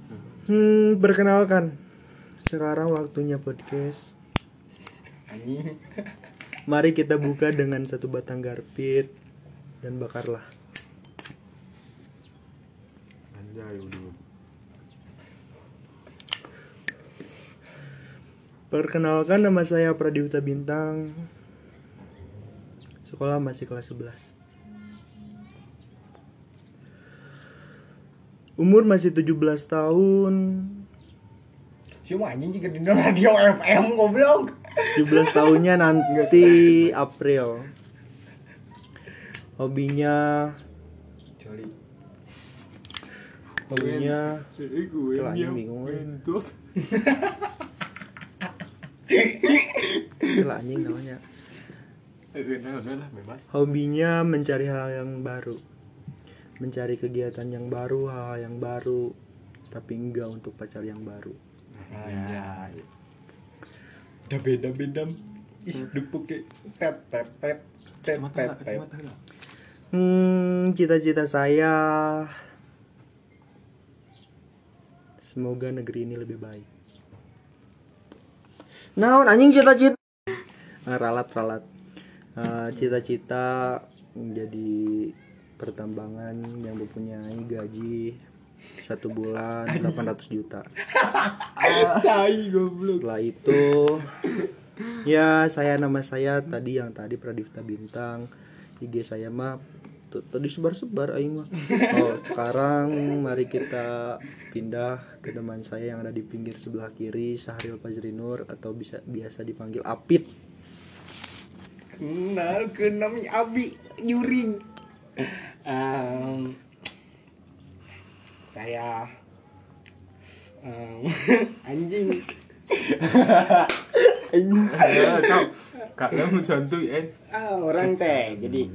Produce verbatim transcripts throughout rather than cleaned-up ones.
Hmm, perkenalkan. Sekarang waktunya podcast. Anjing. Mari kita buka dengan satu batang garpit dan bakarlah. Anjay udah. Perkenalkan, nama saya Pradipta Bintang. Sekolah masih kelas sebelas. Umur masih tujuh belas tahun. Siapa anjing juga di radio F M goblok. tujuh belas tahunnya nanti April. Hobinya Coli. Hobinya Eh gue Telah yang bingung, eh. ngentut. Itulah anjing namanya. Eh nah udah lah bebas. Hobinya mencari hal yang baru. Mencari kegiatan yang baru, hal yang baru, tapi enggak untuk pacar yang baru. Ya. Udah beda-beda. Ih, depuk kayak tet tet tet tet Kacamata tet lah, tet. kacamata lah. Hmm, cita-cita saya semoga negeri ini lebih baik. Naon anjing cita-cita? Ah, ralat-ralat. Ah, cita-cita menjadi pertambangan yang mempunyai gaji satu bulan delapan ratus juta. Tai goblok. Setelah itu ya saya nama saya tadi yang tadi Pradipta Bintang. I G saya mah tuh tadi sebar-sebar aing mah. Oh, sekarang mari kita pindah ke teman saya yang ada di pinggir sebelah kiri, Syahril Fajrinur atau bisa biasa dipanggil Apit. Kenal ke nami Abi Yuring. Um, saya um, anjing. Anjing. Ya, kau kalian santuy eh. Ah, orang teh jadi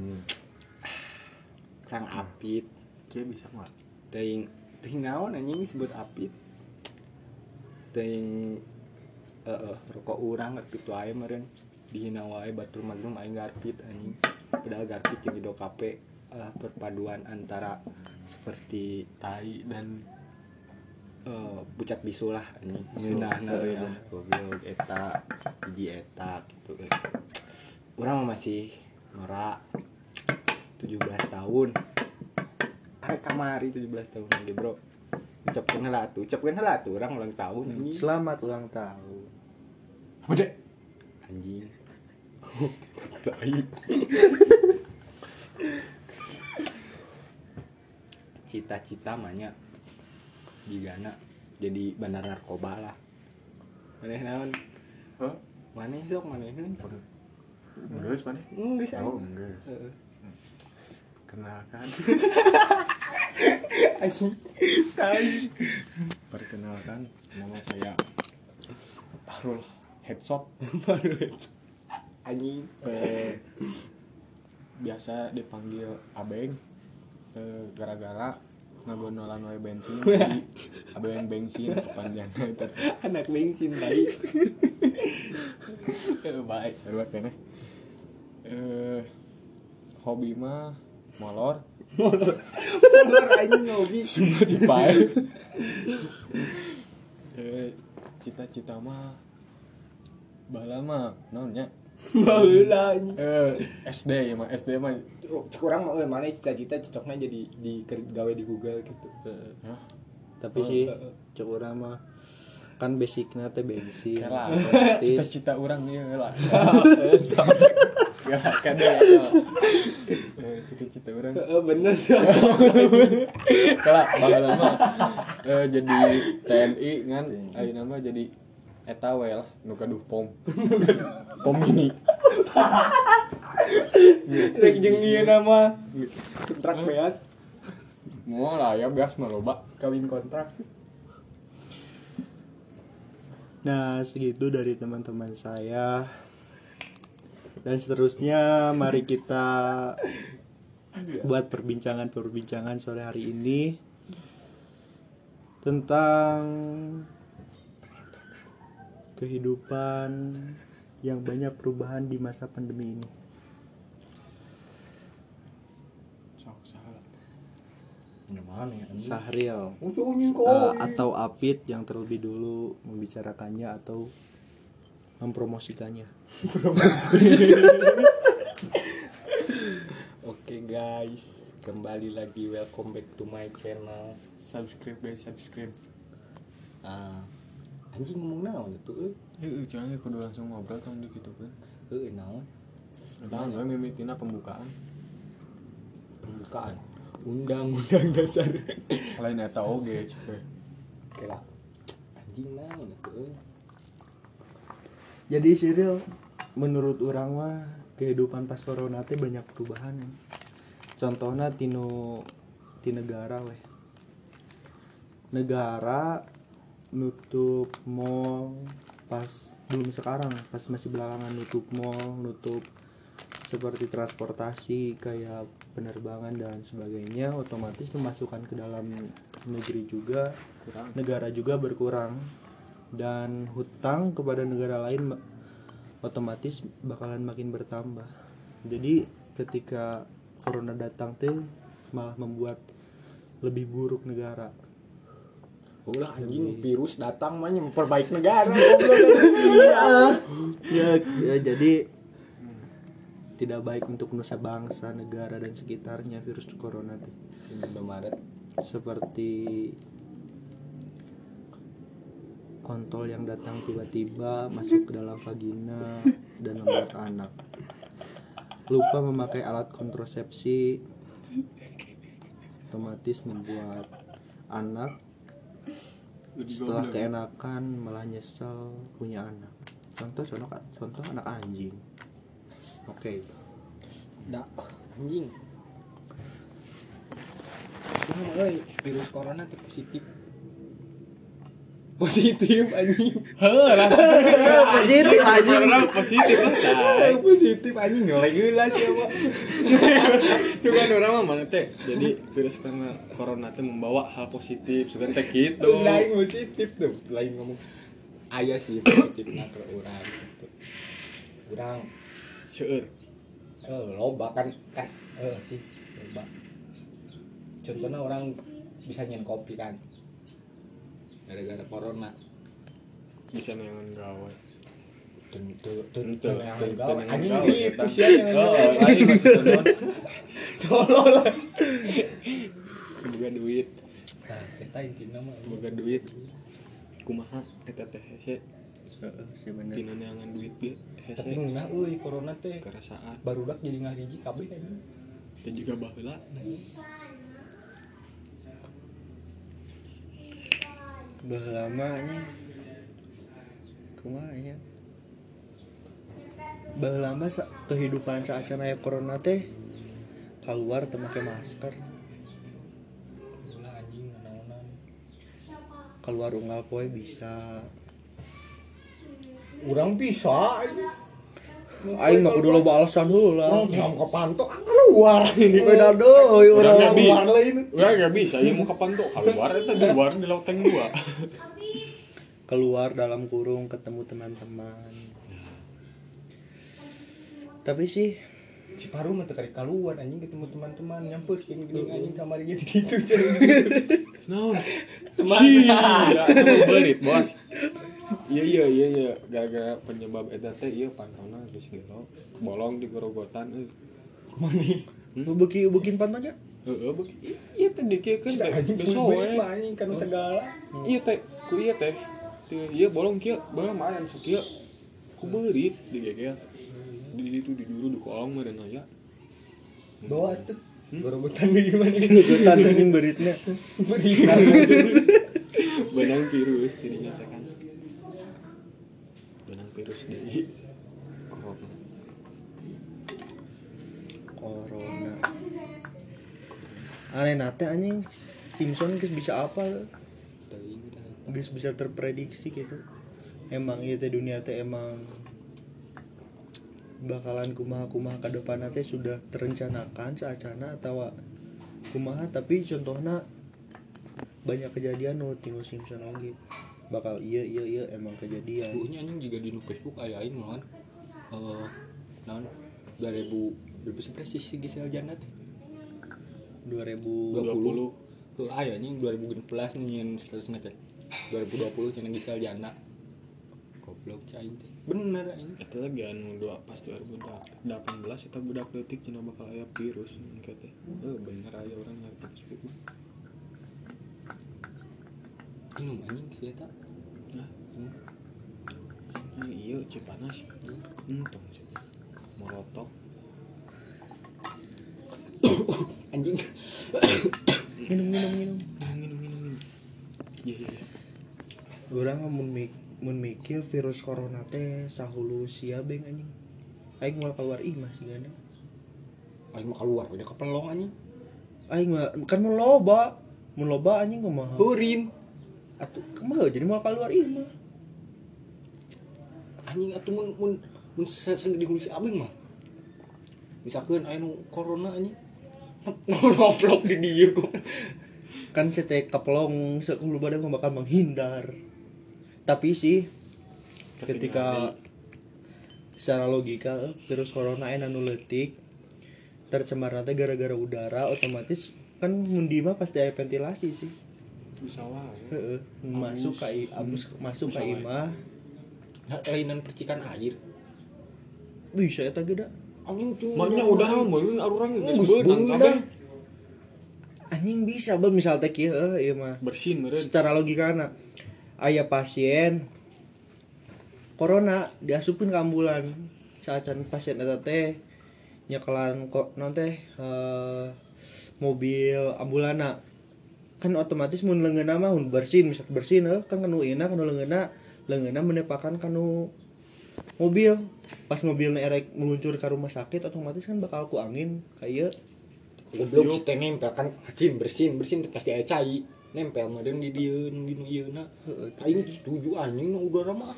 Kang Apit. Kayak bisa mah. Teuing teuing naon anjing disebut Apit. Teuing heeh rokok urang kitu wae meureun dihina wae batur maglum aing garpit anjing. Padahal garpit jeung Ido Kape adalah perpaduan antara seperti Tai dan eh pucat bisu lah anjing. Ngeunahna euy ah goblok eta hiji eta gitu euy. Urang mah masih norak tujuh belas tahun. Karek kamari tujuh belas tahun lagi, Bro. Ucapkeun heula atuh, ucapkeun heula atuh urang ulang tahun anjing. Selamat ulang tahun. Bude. Anjing. Tai. Cita-cita mahnya digana jadi bandar narkoba lah. Maneh naon? Hah? Maneh sok maneheun? Geus mana? Geus Oh, anjing. geus. Heeh. Kenalkan. Anjing. Tai. Perkenalkan, nama saya Bahrul Headshot. Baru itu. Anjing. Eh, biasa dipanggil Abeng. Eh, gara-gara ngagonolan wae bensin jadi Abeng bensin panjangnya itu. Anak bensin tai. Eh, baik, sarua keneh. Eh, hobi mah molor. Molor anjing hobi. Spotify. Eh, cita-cita mah baheula mah naonnya? Baheula anjing. Eh, S D ya mah, S D mah Kurang mah euy mana cita-cita cocoknya jadi di gawe di Google gitu. Hah? Tapi sih cek urang mah kan basicnya teh bensin. Kela, otomatis. cita-cita orang ieu lah. Gak kade ya. Eh, cita-cita orang. Heeh bener. Kela baheula mah eh, jadi T N I ngan ayeuna mah jadi eta we lah nu kaduh pom. Pom ini. Rek jeung ieu nama kontrak beas, Moal lah ya beas mah loba. kawin kontrak. Nah, segitu dari teman-teman saya. Dan seterusnya mari kita buat perbincangan-perbincangan sore hari ini tentang kehidupan yang banyak perubahan di masa pandemi ini. Sok salah. Gimana ya? Sahril Musuh anjing kok. uh, atau Apit yang terlebih dulu membicarakannya atau mempromosikannya. Oke guys, kembali lagi, welcome back to my channel. Subscribe guys, subscribe. Ah, anjing ngomong naon tuh? Heeh, jangan kudu langsung ngobrol tong di kitu kan. Heeh, naon? Naon we mimitina pembukaan. Pembukaan undang-undang dasar. Lain eta oge cepet. Kira anjing naon tuh? Jadi Cyril, menurut orang mah kehidupan pas corona teh banyak perubahan. Contohnya tino ti negara weh. Negara nutup mall pas belum sekarang, pas masih belakangan nutup mall, nutup seperti transportasi kayak penerbangan dan sebagainya, otomatis pemasukan ke dalam negeri juga Kurang. negara juga berkurang, dan hutang kepada negara lain otomatis bakalan makin bertambah. Jadi ketika corona datang teh malah membuat lebih buruk negara. Ulah anjing virus datang mah memperbaiki negara. ya, ya jadi tidak baik untuk nusa bangsa, negara dan sekitarnya virus corona teh. sembilan Maret Seperti kontol yang datang tiba-tiba masuk ke dalam vagina dan membuat anak. Lupa memakai alat kontrasepsi otomatis membuat anak setelah keenakan malah nyesel punya anak. Contoh contoh, contoh anak anjing. Oke. Okay. dah anjing. Kumaha euy, virus corona teh positif. Positif anjing. Heuh lah. Positif anjing. Corona positif lah. Ah, positif anjing nyolek heula siapa. Cuman orang mah mana teh. Jadi virus karena corona teh membawa hal positif, sugan teh kitu. Lain positif tuh, lain ngomong. Aya sih positifna ke urang gitu. Urang Seueur. eh loba kan kan eh sih loba. Contohnya orang bisa nyen kopi kan. Gara-gara corona. Bisa neangan gawe. Tentu tentu Tentu, yang tentu gawe. yang Anjing gawe, di eta. pusia yang Oh, gawe. anjing maksudna Tolol. boga duit, Nah, kita intinya mah boga duit. Kumaha eta teh hese Heeh, sih bener. tina neangan duit ge hese tenungna euy corona teh. kerasaan. Barudak jadi ngahiji kabeh anjing. Teh juga baheula. Bah lamanya kumaha nya bah lama sa- kehidupan saacana aya corona teh keluar teu make masker, Ulah anjing naonan. keluar unggal poe bisa. Urang bisa anjing. Aing mah kudu loba alasan heula. Orang jam kepantok keluar. Beda deui Urang urang. gak bisa. keluar lain. Urang gak bisa, ieu mau kapan tuh keluar eta di luar di loteng dua. Keluar dalam kurung ketemu teman-teman. Tapi sih Si Paru mah teu kari keluar anjing ketemu teman-teman nyampeutkeun geuning anjing kamar ieu di ditu cenah. Naon? Teman. Sia, atuh berit, Bos. Iya iya iya iya gara-gara penyebab eta teh ieu pantona geus gelo bolong di gorogotan euy. Mani. nu beuki beukin pantonya. Heeh beuki ieu teh dikeukeun teh Anjing geus berit soe. mah anjing kana segala. Ieu teh ku ieu teh teu ieu bolong kieu bolong mah aya sok kieu. Ku beurit digegel. Di ditu di dulu di kolong mah dan aya. Bawa tuh. Gorogotan di gimana? Gegotan anjing beritnya. Berit. Benang virus dirinya teh kan. Benang virus di corona. Corona. Aneh nate anjing Simpson geus bisa apa? Geus bisa terprediksi gitu. Emang ieu teh dunia teh emang bakalan kumaha-kumaha ka depanna teh sudah terencanakan saacana atawa kumaha, tapi contohna banyak kejadian nu tinu Simpson oge bakal iya iya iya emang kejadian. Bukunya anjing juga di nu Facebook aya aing mah. Eh naon dua ribu berapa sebelas sih Gisel Jannat dua ribu dua puluh Tuh aya anjing dua ribu enam belas nyin statusna teh. dua ribu dua puluh cenah Gisel janda. Goblok cai teh. Bener anjing. Eta lagi anu dua pas dua ribu delapan belas eta budak leutik cenah bakal aya virus engke teh. Eh bener aya orang ngerti Facebook. Minum anjing si eta. Nah, nah iya Cipanas. Entong sih. Morotok. Anjing. Minum minum minum. Minum minum minum. minum. Iya iya. iya. Urang mun mik mun mikir virus corona teh sahulu sia beng anjing. Aing moal keluar imah sih gana. Aing mah keluar udah kepelong anjing. Aing mah kan mun loba, mun loba anjing kumaha? Hurim. Atuh kumaha jadi moal keluar imah. Anjing atuh mun mun mun seseng di hulu si abeng mah. Misalkeun aya nu corona anjing. Ngobrol di dieu kok. Kan sete keplong sekulu badan mah bakal menghindar. Tapi sih ketika secara logika virus corona aya nu leutik tercemar teh gara-gara udara otomatis kan mun di mah pasti aya ventilasi sih. Bisa wae. Heeh, masuk ka i- abus masuk ka imah Nah, kelainan percikan air. bisa eta ge da. Anjing tuh. Maknya udara meureun urang geus Geus beunang beunang kabeh. Anjing bisa beuh misal teh kieu heuh ieu mah. Bersin meureun. Secara logikana aya pasien corona diasupkeun ke ambulan saat can pasien eta teh nyekelan kok non teh eh, mobil ambulana kan otomatis mun leungeunna mah mun bersin misal bersin heuh kan kanu ieu kanu leungeunna leungeunna menepakan kanu mobil pas mobilnya erek meluncur ke rumah sakit otomatis kan bakal ku angin kayak Goblok si teh nempel kan hacim bersin bersin pasti aya cai. Nempel meureun di dieu di nu ieuna. Aing setuju anjing nu udara mah.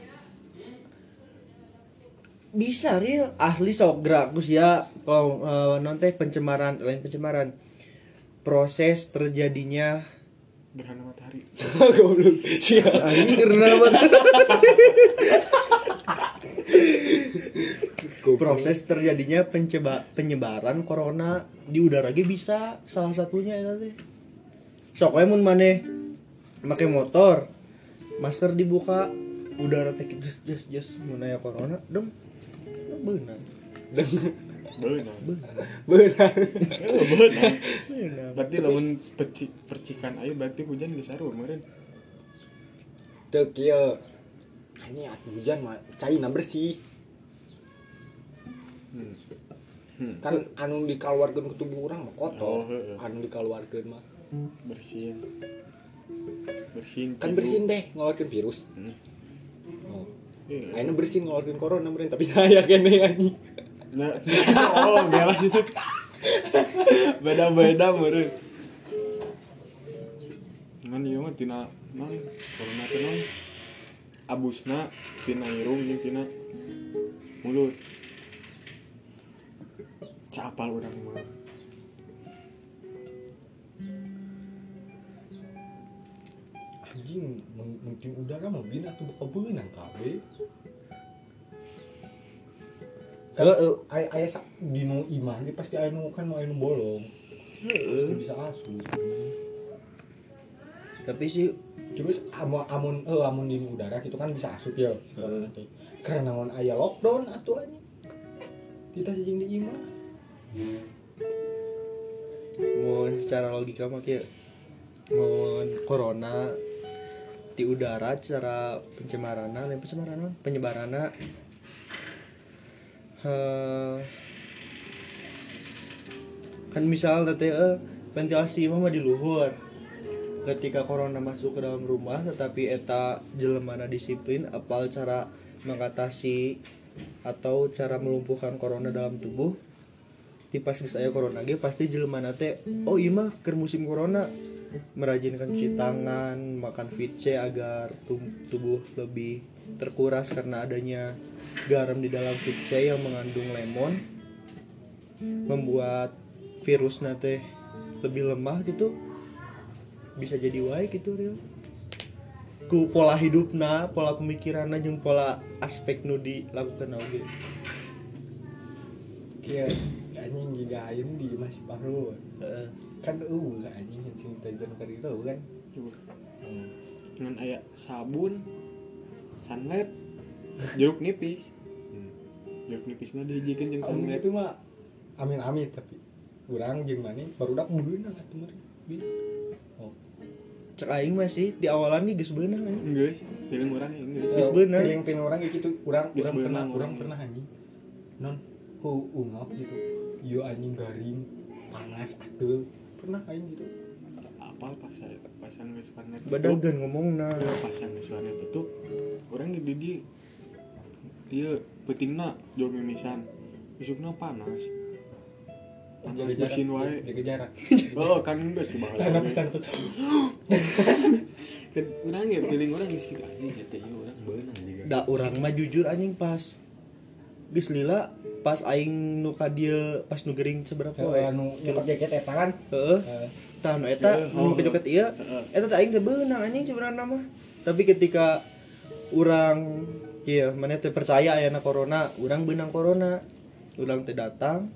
bisa real asli sok grakus ya kalau uh, non teh pencemaran lain pencemaran proses terjadinya Gerhana matahari. Goblok. Sia. anjing karena apa proses terjadinya penceba, penyebaran corona di udara ge bisa salah satunya eta teh sok we mun maneh make motor masker dibuka udara teh jes jes jes mun aya corona dem beunang Beunang. Beunang. Eh, beunang. beunang Berarti lamun perci, percikan air berarti hujan geus saru meureun. Teu kieu. Anjing atuh hujan mah caina bersih. Hmm. Hmm. Kan anu dikaluarkeun ku tubuh urang mah Oh, kotor. heueuh. Anu dikaluarkeun mah Bersin. Bersin. kan tidu. bersin teh ngeluarkeun virus. Hmm. Oh. Iya. Ayeuna bersin ngeluarkeun corona meureun tapi aya keneh anjing. Nah, oh, belas itu. Beda-beda meureun. Ngan ieu mah tina naon? Corona teh naon? Abusna tina irung jeung tina mulut. Capal urang mah. Anjing mungkin udara mah bina tuh bakal beunang kabeh. Heeh. Aya aya sak dino imah ge pasti aya nu kan mau aya nu bolong. Pasti bisa asup. tapi sih Terus amun amun eh amun di udara gitu kan bisa asup ya. Heeh. Karena naon aya lockdown atuh anjing. Kita cicing di imah. mun secara logika mah kieu mun corona di udara secara pencemaranna lain pencemaranna penyebaranna eh kan misal teh eh, ventilasi mah di luhur ketika corona masuk ke dalam rumah tetapi eta jelemana disiplin apal cara mengatasi atau cara melumpuhkan corona dalam tubuh di pas geus aya corona ge pasti jelemana teh oh ieu mah keur musim corona merajinkan cuci tangan makan V C agar tum- tubuh lebih terkuras karena adanya garam di dalam V C yang mengandung lemon membuat virusna teh lebih lemah gitu bisa jadi wae gitu real ku pola hidupna pola pemikiranna jeung pola aspek nu dilakukan oge Kieu anjing giga ayeuna di masih paruh. heeh kan eueuh anjing hand sanitizer keur itu kan. Hmm. Dengan aya sabun, sunlight, jeruk nipis. Hmm. Jeruk nipisna dihijikeun jeung Amun sunlight. itu mah amin-amin tapi urang jeung maneh barudak beunang atuh meureun. Oh. Cek aing mah sih di awalan nih geus beunang anjing. Geus, feeling urang ya geus. Geus beunang. Piling-piling orang kayak gitu, urang Geus urang pernah beunang urang urang. pernah anjing. Non hu ungap gitu. Ieu anjing garing, panas atuh. Pernah aing gitu. Apa pas saya pasang geus warnet Badagan ngomongna. pasang geus warnet tutup. Urang di dieu ieu peutingna jauh mimisan. Isukna panas. Panas Jaga bersin jarak, wae. jaga jarak. Oh, kan geus di bawah. Tanah pesan tuh. Kan urang ya feeling urang geus kitu anjing teh ieu urang beunang juga. Da urang mah jujur anjing pas geus lila pas aing nu ka dieu pas nu gering seberapa we. Anu nyokot jaket eta kan. Heeh. Eh, Tah nu eta Heeh, nu oh, kejoket ieu eta teh aing teh beunang anjing sebenarnya mah. Tapi ketika urang ieu maneh teh percaya aya corona, urang beunang corona. Urang teh datang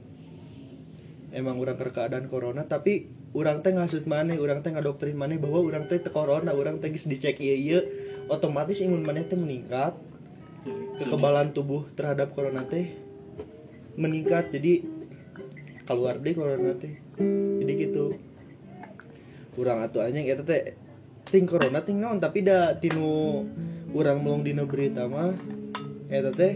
emang urang keur keadaan corona tapi urang teh ngasut maneh, urang teh ngadoktrin maneh bahwa urang teh teu corona, urang teh geus dicek ieu-ieu, otomatis imun maneh teh meningkat. Kekebalan tubuh terhadap corona teh meningkat, jadi keluar deh corona teh. Jadi gitu. Urang atuh anjing eta teh ting corona ting naon tapi da tinu urang melong dina berita mah eta teh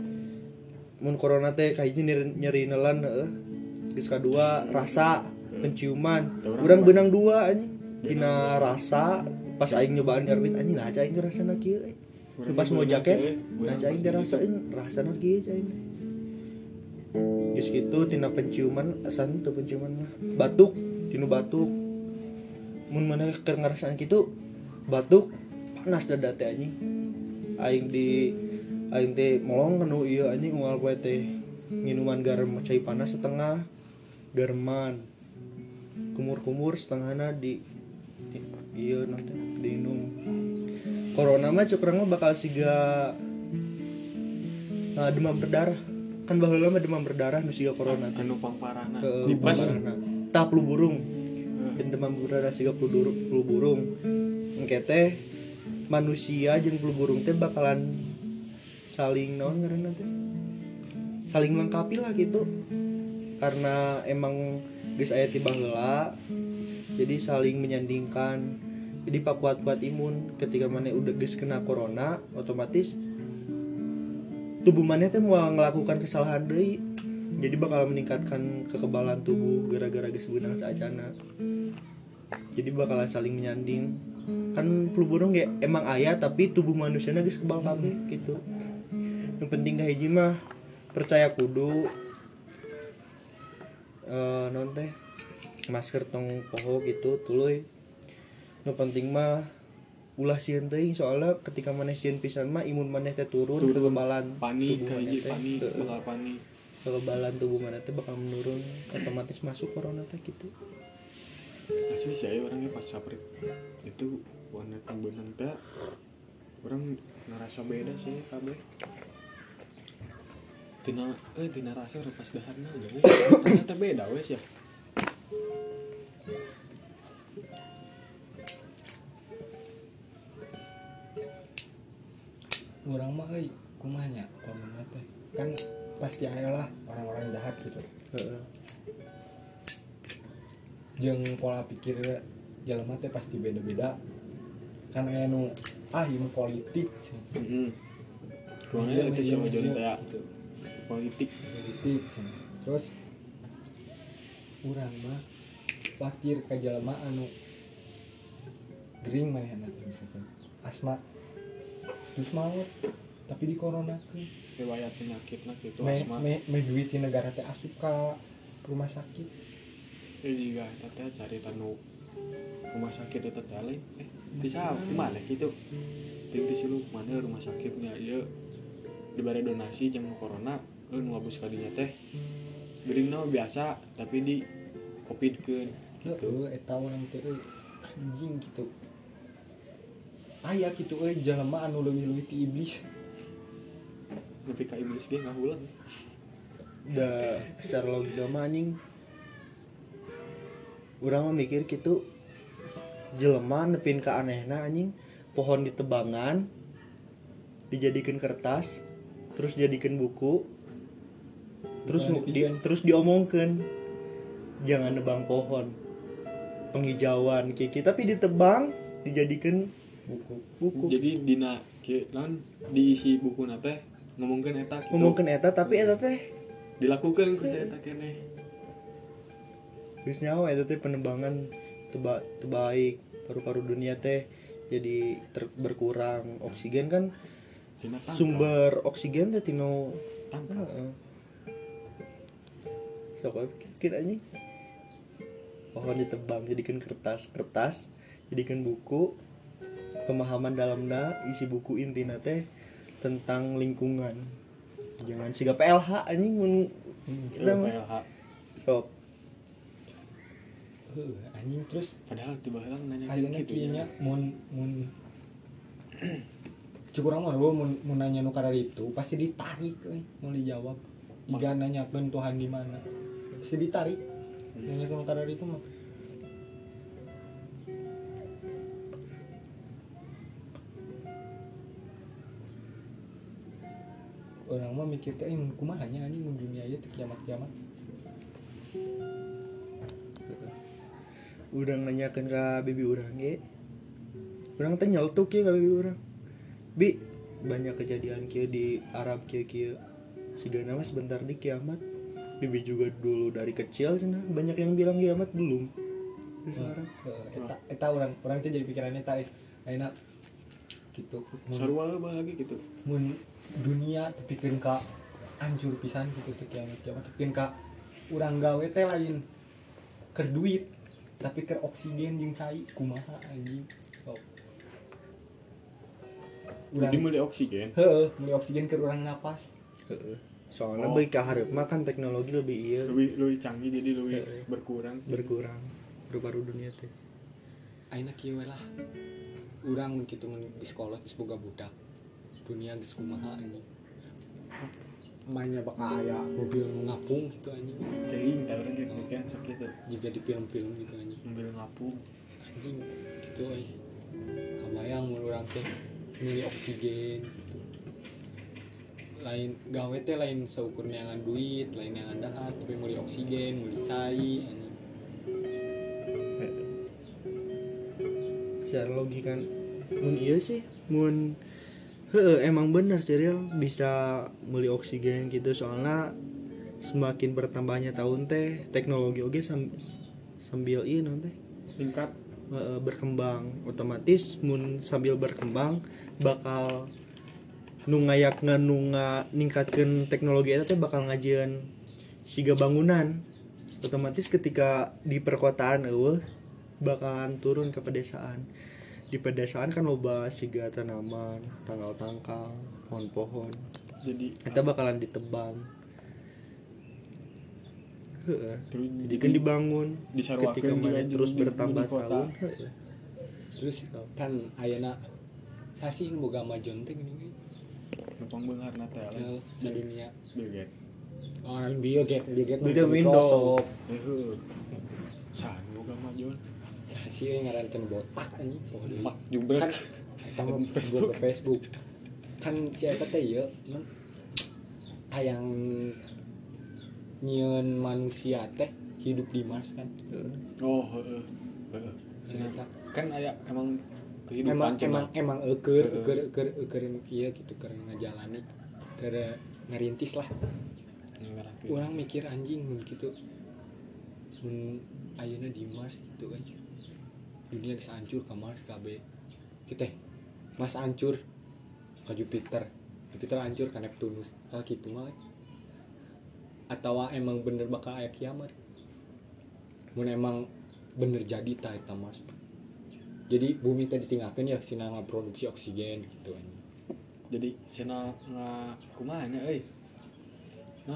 mun corona teh kahiji nyeri, nyeri nelan heeh. Geus kadua rasa penciuman. Urang beunang dua anjing. Dina rasa pas aing nyobaan garbit anjing nah aing teh rasana kieu euy. Pas mau jaket nah aing teh rasain rasana kieu aing teh. Geus kitu tina penciuman asan teu penciuman mah batuk, tinu batuk. Mun maneh keur ngarasaan kitu batuk panas dada teh anjing. Aing di aing teh molong kanu ieu anjing moal poe teh minuman garam cai panas setengah gareman kumur-kumur setengahna di ieu nanti diinum. Corona mah cek urang mah bakal siga nah, demam berdarah. Kan baheula mah demam berdarah nu siga corona teh. Anu pangparahna Ke tipes. tah flu burung. Dan demam berdarah siga flu burung, flu burung. Engke teh manusia jeung flu burung teh bakalan saling naon ngaranna teh? Saling melengkapi lah gitu. Karena emang geus aya ti baheula. Jadi saling menyandingkan. Jadi pakuat-kuat imun ketika maneh udah geus kena corona, otomatis tubuh maneh teh moal ngelakukan kesalahan deui. Jadi bakal meningkatkan kekebalan tubuh gara-gara geus beunang saacana. Jadi bakalan saling menyanding. Kan flu burung ya emang aya tapi tubuh manusiana geus kebal kabeh gitu. Yang penting kahiji mah percaya kudu eh non teh masker tong poho gitu tuluy. Nu penting mah ulah sieun teuing soalnya ketika maneh sieun pisan mah imun maneh teh turun, Turun. kekebalan Panik tubuh maneh kahiji teh panik Heeh. bakal panik. kekebalan tubuh maneh teh bakal menurun, otomatis masuk corona teh gitu. Asli sih aya orangnya pas saprit itu warna beunang teh orang ngerasa beda sih kabeh. Tina eh tina rasa pas daharna we. Ternyata beda wes ya. urang mah euy kumaha nya pamana teh. Kan pasti aya lah orang-orang jahat gitu. Heeh. Jeung pola pikir jelema teh pasti beda-beda. Kan aya nu ah ieu politik. Heeh. Kurangnya Iya, itu iya, si ojon iya, teh gitu. politik. Politik. Terus urang mah khawatir ka jelema anu gering manehna teh misalkan asma terus maut tapi di corona ke Riwayat penyakitna kitu me, asma. me, me duit di negara teh asup ka rumah sakit. Eh juga eta teh carita nu rumah sakit eta teh lain. Eh bisa di mana kitu? Ting di silu mana rumah sakitnya ieu dibere donasi jeung corona euy nu ngabus ka dinya teh. Geuringna biasa tapi di covidkeun gitu. Heeh, eta urang teh euy anjing gitu. Aya kitu euy jelema anu leuwih-leuwih ti iblis. Nepi ka iblis ge ngahulang. Da secara logika mah anjing urang mah mikir kitu jelema nepin ka anehna anjing pohon ditebangan dijadikan kertas terus jadikan buku terus Bukan di, terus diomongkeun jangan nebang pohon penghijauan kiki tapi ditebang dijadikan buku buku Jadi dina ke non diisi buku teh ngomongkeun eta gitu. ngomongkeun eta tapi eta teh Dilakukan ku eta keneh. geus nyawa eta teh penebangan teba, terbaik paru-paru dunia teh jadi ter, berkurang oksigen kan Tina tangkal. sumber oksigen teh tino Tangkal. heeh sok pikir anjing pohon ditebang jadikan kertas kertas jadikan buku pemahaman dalamna isi buku intina teh tentang lingkungan jangan siga P L H anjing mun kita P mah L H. sok heuh anjing terus Padahal tiba heula nanya ayeuna gitu kieu nya nya. mun mun cukup urang mah lu mun mun nanya nu kada itu pasti ditarik euy mun dijawab jika nanyakeun Tuhan di mana pasti ditarik nanya nu kada itu mah orang mah mikir teh eh kumaha nya anjing mun dunia ieu teh kiamat-kiamat urang nanyakeun ka bibi urang ge urang teh nyeltuk ya ka bibi urang bi banyak kejadian kieu di Arab kieu kieu sigana mah sebentar di kiamat bibi juga dulu dari kecil cenah banyak yang bilang kiamat belum sekarang Heeh, eta eta urang urang teh jadi pikirannya eta ayeuna gitu mun Sarua heula lagi gitu. mun dunia tepikeun ka hancur pisan gitu teh kiamat kiamat tepikeun ka urang gawe teh lain keur duit tapi keur oksigen jeung cai kumaha anjing sok Jadi meuli oksigen. heeh meuli oksigen keur urang napas heeh soalnya Oh. beuki ka hareup mah kan teknologi lebih ieu Lebih lebih canggih jadi lebih Heeh. berkurang. sih. berkurang paru-paru dunia teh ayeuna kieu we lah urang mun kitu mun di sekolah geus boga budak dunia geus kumaha anjing mainnya bakal aya mobil ngapung gitu anjing Teuing tah urang ge pikiran sok kitu. juga di film-film gitu anjing Mobil ngapung. anjing gitu euy kabayang mun urang teh milih oksigen gitu lain gawe teh lain seukur neangan duit lain neangan dahat tapi meuli oksigen meuli cai anjing secara logika mun iya sih mun heeh emang bener serial bisa meuli oksigen gitu soalnya semakin bertambahnya tahun teh teknologi oge sam, sambil ieu naon teh Tingkat heeh, berkembang otomatis mun sambil berkembang bakal nu ngayakna nu ningkatkeun teknologi eta teh bakal ngajieun siga bangunan otomatis ketika di perkotaan eueuh bakalan turun ke pedesaan di pedesaan kan loba siga tanaman tangkal-tangkal pohon-pohon jadi eta bakalan ditebang heeh terus jadi kan dibangun disarwakeun ketika juga mana di- terus di- bertambah di kota. tahun heeh. terus kan ayeuna sasi nu boga majon teh gini numpang beungarna teh di di dunia Bill Gates. oh lain Bill Gates Bill Gates Bill Gates mah Windows. Eh heuh. Saan boga majon. sasi we ngarankeun botak anjing pokoknya Mak jubrek. kan eta mah Facebook ke Facebook kan si eta teh ieu non hayang nyieun manusia teh hidup di Mars kan Oh heeh. Heeh. ternyata Kan aya emang emang kehidupan emang cenah. emang eukeur Heeh. eukeur eukeur eukeur ieu gitu keur ngajalani keur ngerintis lah Ngarapi. urang mikir anjing mun kitu mun ayeuna di Mars gitu kan dunia geus hancur ka Mars kabeh kita Mars hancur ka Jupiter Jupiter hancur ka Neptunus kalau kitu mah we. Atawa emang bener bakal aya kiamat mun emang bener jadi ta eta Mars jadi bumi teh ditinggalkeun ya sina ngaproduksi oksigen gitu anjing Jadi cenah nga kumaha nya euy. Non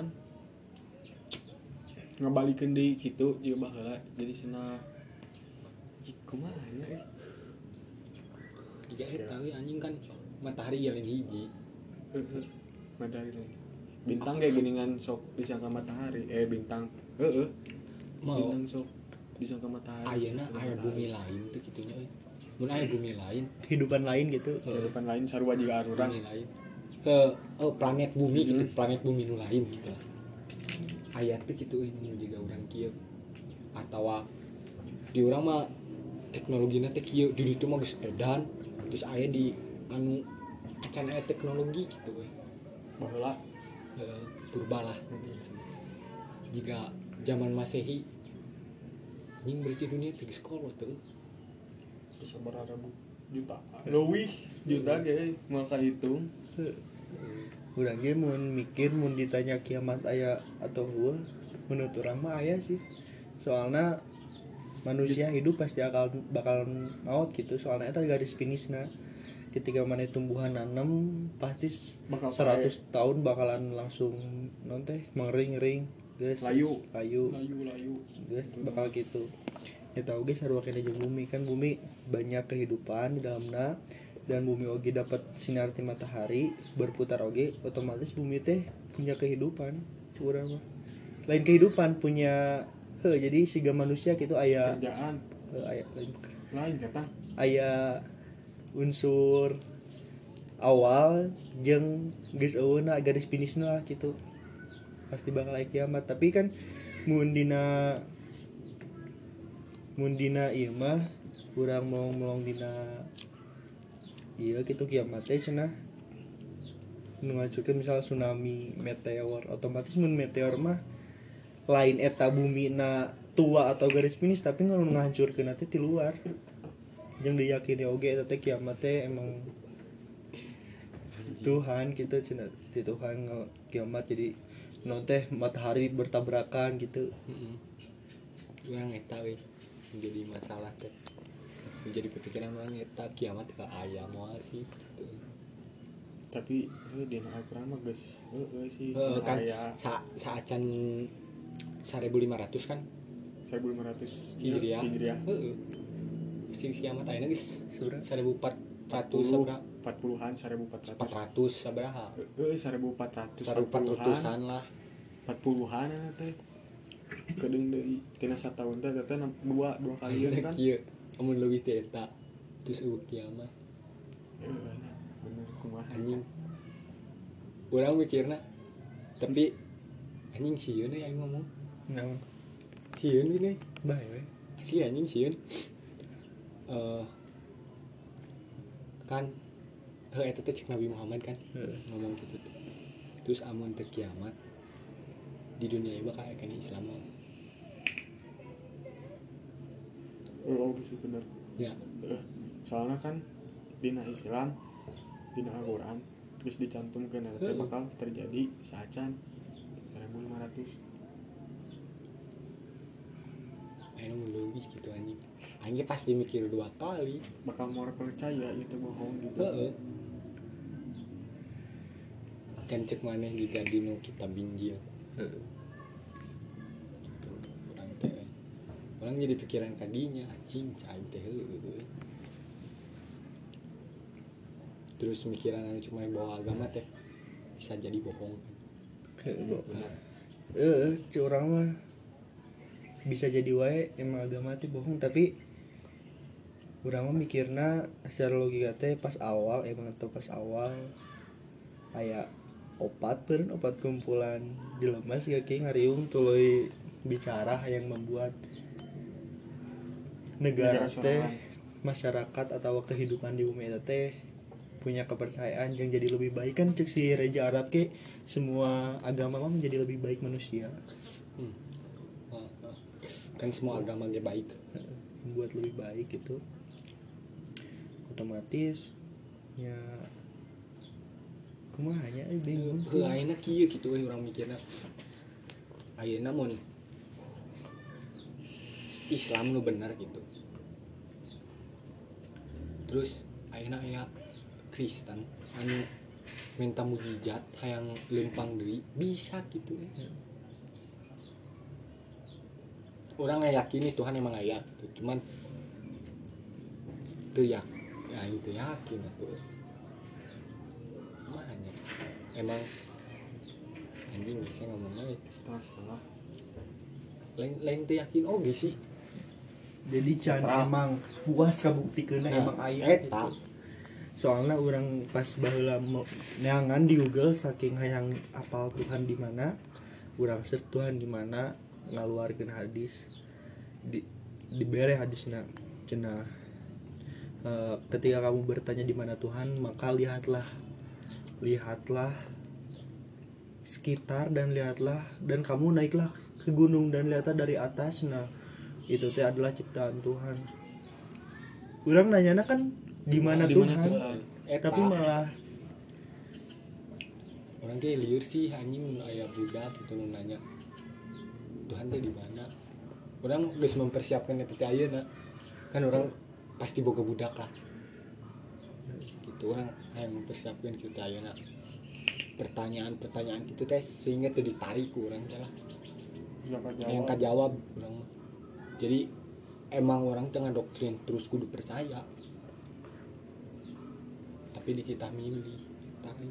ngabalikeun deui kitu ieu baheula jadi cenah cik kumaha nya euy. jika eta we anjing kan matahari ya lain hiji Heeh. Matahari lain. Bintang kayak geningan sok disangka matahari. Eh bintang. Heeh. mau Bintang sok. disangka matahari ayeuna aya bumi lain tuh kitunya euy mun aya bumi lain kehidupan lain gitu. kehidupan lain sarua juga arurang bumi lain eh oh, planet bumi gitu planet bumi nu lain gitu lah aya teh kitu euy nu juga urang kieu atawa di urang mah teknologina teh kieu di ditu mah geus edan terus aya di anu acan aya teknologi gitu euy baheula eh, purba lah jika zaman masehi anjing berarti dunia tiga sekolah tuh bisa berapa juta leuwih juta ge moal kahitung Urang ge mun mikir mun ditanya kiamat aya atau heueuh menurut urang mah aya sih. Soalna manusia hidup pasti akal bakal maut gitu. Soalna eta garis finishna. Ketika mana tumbuhan nanem pasti Bakal seratus tahun bakalan langsung non teh mengering-ring geus Layu. layu layu layu geus bakal gitu. Eta oge sarua kena jeung bumi kan bumi banyak kehidupan di dalamna dan bumi oge dapat sinar ti matahari berputar oge otomatis bumi teh punya kehidupan urang mah lain kehidupan punya heuh jadi siga manusia gitu aya kerjaan heuh, aya lain lain kata aya unsur awal jeung geus eueuna garis finishna gitu pasti bakal aya kiamat tapi kan mun dina mun dina ieu mah urang melong-melong dina iya gitu kiamat teh cenah nu ngajukeun misal tsunami meteor otomatis mun meteor mah lain eta bumi na tua atau garis finish tapi nu ngahancurkeun teh ti luar jeung diyakini oge eta teh kiamat teh emang Tuhan gitu cenah ti Tuhan kiamat jadi nu teh matahari bertabrakan gitu. heeh urang eta we menjadi masalah teh menjadi pikiran orang eta kiamat ka aya moal sih gitu. tapi heuh dina Al-Qur'an mah geus heueuh sih Heeh kan aya sa saacan seribu lima ratus kan seribu lima ratus Hijriah. Hijriah Heeh. Sing kiamat ayeuna geus Sabaraha? seribu empat ratus sabaraha? empat puluhan seribu empat ratus empat ratus sabaraha? heueuh seribu empat ratus seribu empat ratusan lah. empat puluhan eta teh kedeung deui tina sataun teh teh dua dua kalian Ayeuna kan kieu amun leuwih teh eta terus eueuh kiamat Heueuh, bener kumaha anjing. Urang mikirna tapi anjing sieun we aing ngomong. Naon? Sieun we Bae we. si anjing sieun. Eh kan heuh eta teh cek Nabi Muhammad kan Heeh. ngomong gitu tuh. Terus amun teu kiamat di dunia ieu bakal aya kana Islam mah. oh bisa bener Ya, Heueuh, soalnya kan dina Islam dina Al-Qur'an geus dicantumkeun eta teh Heeh. bakal terjadi saacan seribu lima ratus ayeuna mun leuwih gitu anjing. Aing ge pasti mikir dua kali. bakal mau percaya itu bohong gitu Heeh. Kan cek maneh juga dinu kitab Injil. Heeh. Gitu. Urang teh we. Urang jadi pikiran kadinya anjing cai teh heueuh. Terus mikiran anu cuma bawa agama teh bisa jadi bohong. Heeh. Benar. Eh, curang mah bisa jadi wae emang agama teh bohong tapi urang mah mikirna secara logika teh pas awal emang atau pas awal aya opat peureun opat kumpulan jelema siga kieu ngariung tuluy bicara yang membuat negara Negara teh sorangan. masyarakat atau kehidupan di bumi eta teh punya kepercayaan yang jadi lebih baik kan cek si Raja Arab ke semua agama mah menjadi lebih baik manusia Hmm. Ah, ah. Kan semua agama ge baik. membuat lebih baik gitu otomatis ya kumaha nya eh, bingung sih. Heuh ayeuna kieu kitu we urang mikirna. Ayeuna mun Islam nu bener gitu. Terus ayeuna aya Kristen anu minta mujizat hayang lempang deui bisa gitu we. Urang ngayakini Tuhan emang aya gitu. Cuman teu yak ya aing teu yakin atuh. Makanya emang anjing bisa ngomongnya setengah setengah lain lain teu yakin oge sih jadi can Terang. emang puas kabuktikeunna Nah, emang aya eta. gitu. Soalnya orang pas baheula me- neangan di Google saking hayang apal Tuhan di mana, urang search Tuhan di mana, ngaluarkeun hadis di dibere hadisna cenah eh, ketika kamu bertanya di mana Tuhan, maka lihatlah lihatlah sekitar dan lihatlah dan kamu naiklah ke gunung dan lihatlah dari atas. Nah itu teh adalah ciptaan Tuhan. Urang nanyana kan di mana Di Tuhan, mana Tuhan? Eta. tapi malah Orang ge lieur sih anjing aya budak gitu nu nanya Tuhan teh di mana. Orang geus mempersiapkan eta teh ayeuna. Kan orang pasti boga budak lah. Gitu orang hayang mempersiapkan kitu teh ayeuna. Pertanyaan-pertanyaan gitu teh sehingga teu ditarik ku urang teh lah. Siapa Yang jawab? kajawab urang mah. Jadi emang orang tengah doktrin terus kudu percaya. Tapi di kita milih. Tapi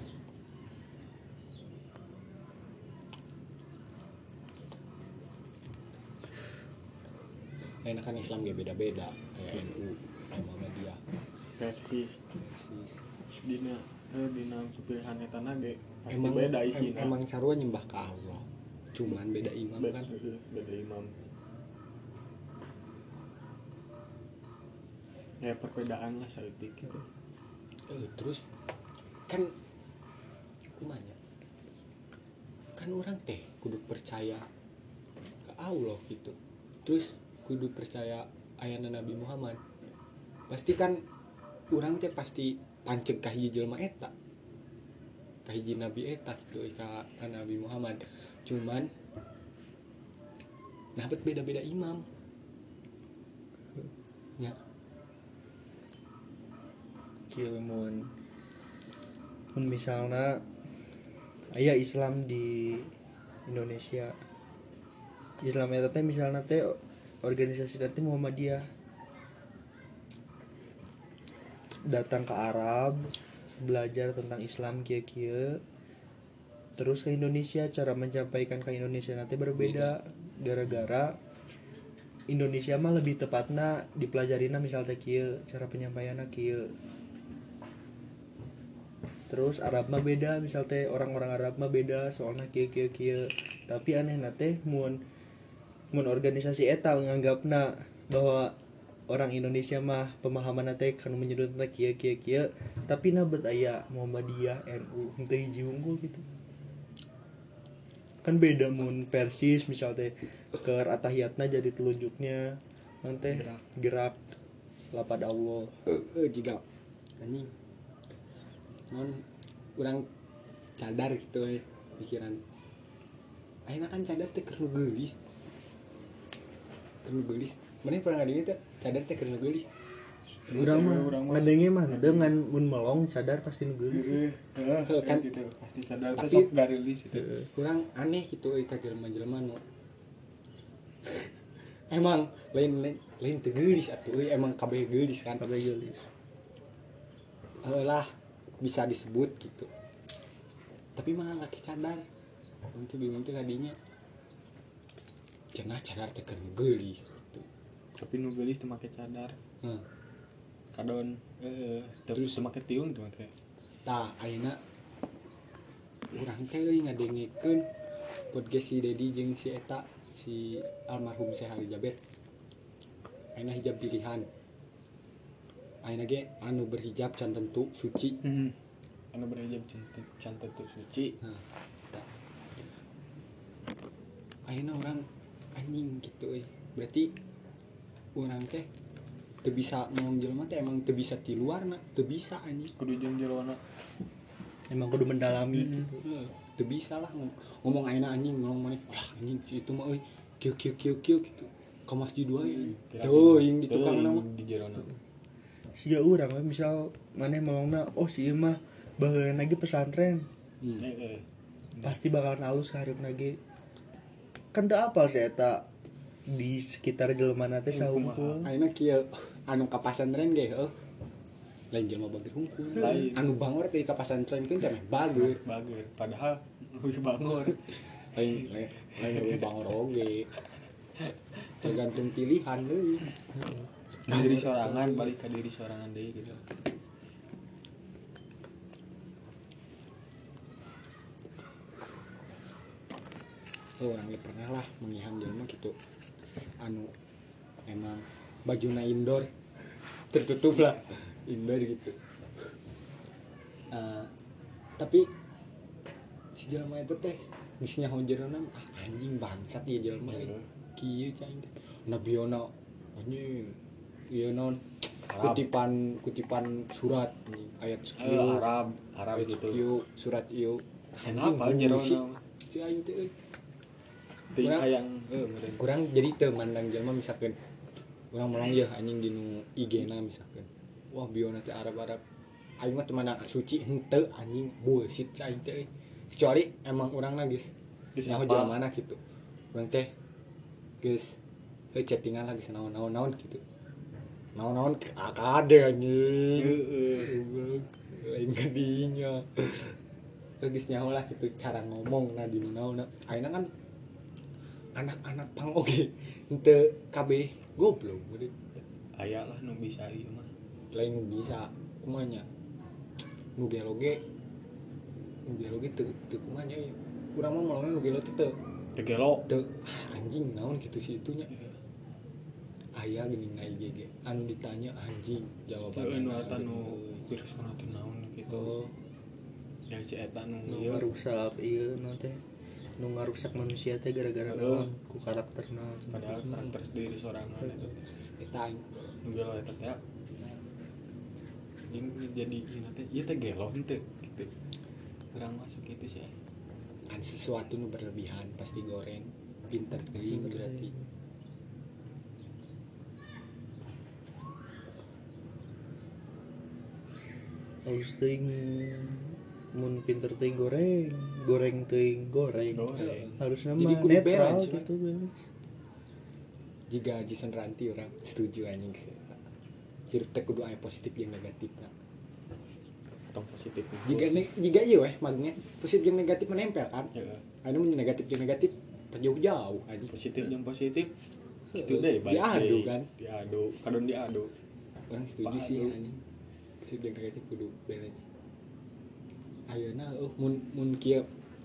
enak kan Islam ge beda-beda kayak N U kayak Muhammadiyah. Persis dina eh, dina pilihan eta na ge pasti Emang beda em- isina. emang sarua nyembah ka Allah. Cuman beda imam Be- kan. eh, beda imam. Ya perbedaan lah saeutik gitu. Eh, terus kan kumanya kan orang teh kudu percaya ke Allah gitu. Terus kudu percaya ayana Nabi Muhammad. Pasti kan orang teh pasti panceg ka hiji jelema eta. Ka hiji nabi eta gitu ka, ka Nabi Muhammad. Cuman nah bet beda-beda imam. Ya, kieu mun mun misalna aya Islam di Indonesia. Islam eta teh misalna teh organisasi nanti Muhammadiyah datang ke Arab belajar tentang Islam kieu-kieu terus ke Indonesia, cara menyampaikan ke Indonesia nanti berbeda gara-gara Indonesia mah lebih tepatna dipelajarina misalnya kieu cara penyampaianna kieu. Terus Arab mah beda, misal teh orang-orang Arab mah beda soalnya kieu kieu kieu. Tapi anehna teh mun mun organisasi eta nganggapna bahwa orang Indonesia mah pemahaman teh kan menyudutna kieu kieu kieu, tapi na bet aya Muhammadiyah, N U, henteu hiji unggul gitu. Kan beda mun Persis misal teh keur atahiyatna jadi telunjuknya nanti Gerak. gerak lapad Allah. eh jika anjing non kurang cadar gitu eh, pikiran ayeuna kan cadar teh keur nu geulis keur nu geulis mana pernah ngadenge teh cadar teh keur nu geulis Urang mah Urang mah ngadenge mah dengan mun melong sadar pasti nu geulis. Heeh, heeh, Kan- gitu pasti cadar teh Tapi- sok garilis gitu. Heeh. kurang aneh gitu eh ka jelema-jelema nu emang lain lain lain teu geulis atuh euy emang kabeh geulis kan Kabeh geulis. eh lah bisa disebut gitu tapi malah laki cadar nanti bingung tuh tadinya cenah cadar teh keur geulis gitu. Tapi nu geulis teu make cadar. Nah, Kadon heeh, terus teu make tiung teu make. tah ayeuna urang teh euy ngadengekeun podcast si Dedi jeung si eta si almarhum Syekh Ali Jaber. Ayeuna hijab pilihan. Ayeuna ge anu berhijab can tentu suci. Heeh. Anu berhijab cantik cantik tuh suci. Nah, tah. Ayeuna urang anjing gitu euy. Berarti urang teh teu bisa ngomong jelema teh emang teu bisa ti luarna, teu bisa anjing. Kudu jeung jerona. Emang kudu mendalami Hmm. gitu. Heeh, teu bisa lah ngom- ngomong ayeuna anjing ngomong maneh. Wah, anjing si itu mah euy kieu kieu kieu kieu gitu. Ka masjid wae. Tuh, yang di tukang nama. di jerona. Siga urang we misal maneh melongna oh si ieu mah baheula lagi pesantren Hmm. Heeh. pasti bakalan halus ka hareup lagi. Kan teu apal si eta di sekitar jelema teh sahunkul. Ayeuna kieu anu ka pasantren ge heuh. Lain jelema bager hungkul. Lain. Anu bangor teh ka pasantren keun teh meh bager. Bager padahal lebih bangor. Lain lain lain lebih bangor oge. tergantung pilihan deui. diri sorangan balik ke diri sorangan deui gitu. Oh, orang ge pernah lah mengihan jelema gitu. Anu emang bajuna indoor tertutup lah indoor gitu. Uh, tapi si jelema itu teh geus nyaho jerona ah anjing bangsat ieu jelema Heeh. kieu cai teh. Nabiona anjing ieu non Arab. kutipan kutipan surat anjing ayat Eh, sekieu Arab Arab ayat gitu. sekieu surat ieu Kenapa anjing jerona? bullshit. Si aing teh euy. Teu Urang- hayang eh meureun. Kurang jadi teu mandang jelema misalkan urang melang ya anjing dinu I G-na misalkan wah biona teh Arab-Arab aing mah teu mandang suci henteu anjing bullshit cai teh kecuali emang urangna geus Geus nyaho apa? jelemana gitu urang teh geus heuh chattingan lagi naon-naon gitu naon-naon akade anjing Heeh. lain kadinya geus nyaho lah gitu cara ngomong na dinu naonna ayeuna kan anak-anak pang oge henteu kabeh goblok geuning. Aya lah nu bisa ieu mah. Lain nu bisa kumaha nya nu gelo ge nu gelo ge teu teu kumaha nya ieu urang mah mulana nu gelo teh teu Teu gelo. teu ah, anjing naon kitu si itunya aya geuning na I G ge anu ditanya anjing jawaban Heeh nu eta nu virus corona teh naon gitu. oh Ya si eta nu nu ieu ngarusak ieu nu teh nu ngarusak manusia teh gara-gara Heeh. naon ku karakterna padahal karakter diri sorangan eta teh. eta aing Nu gelo eta teh. Ini jadi ieu teh ieu teh gelo henteu gitu. Urang masuk itu sih. kan sesuatu nu berlebihan pasti goreng pinter teuing berarti halus teuing mun pinter teuing goreng goreng teuing goreng Goreng. harusnya Jadi mah kudu netral balance, we. gitu balance jika Jason Ranti orang setuju anjing sih hirup teh kudu aya positif jeung negatif nah. Tong positif. Jika ne- jika ieu weh magnet positif jeung negatif menempel kan Heeh. anu mun negatif jeung negatif jauh-jauh anjing Positif yang positif Heeh. itu deh balik Diadu deui. kan. Diadu kadon diadu. orang setuju Padu. sih anjing positif jeung negatif kudu balance ayeuna eueuh mun mun kieu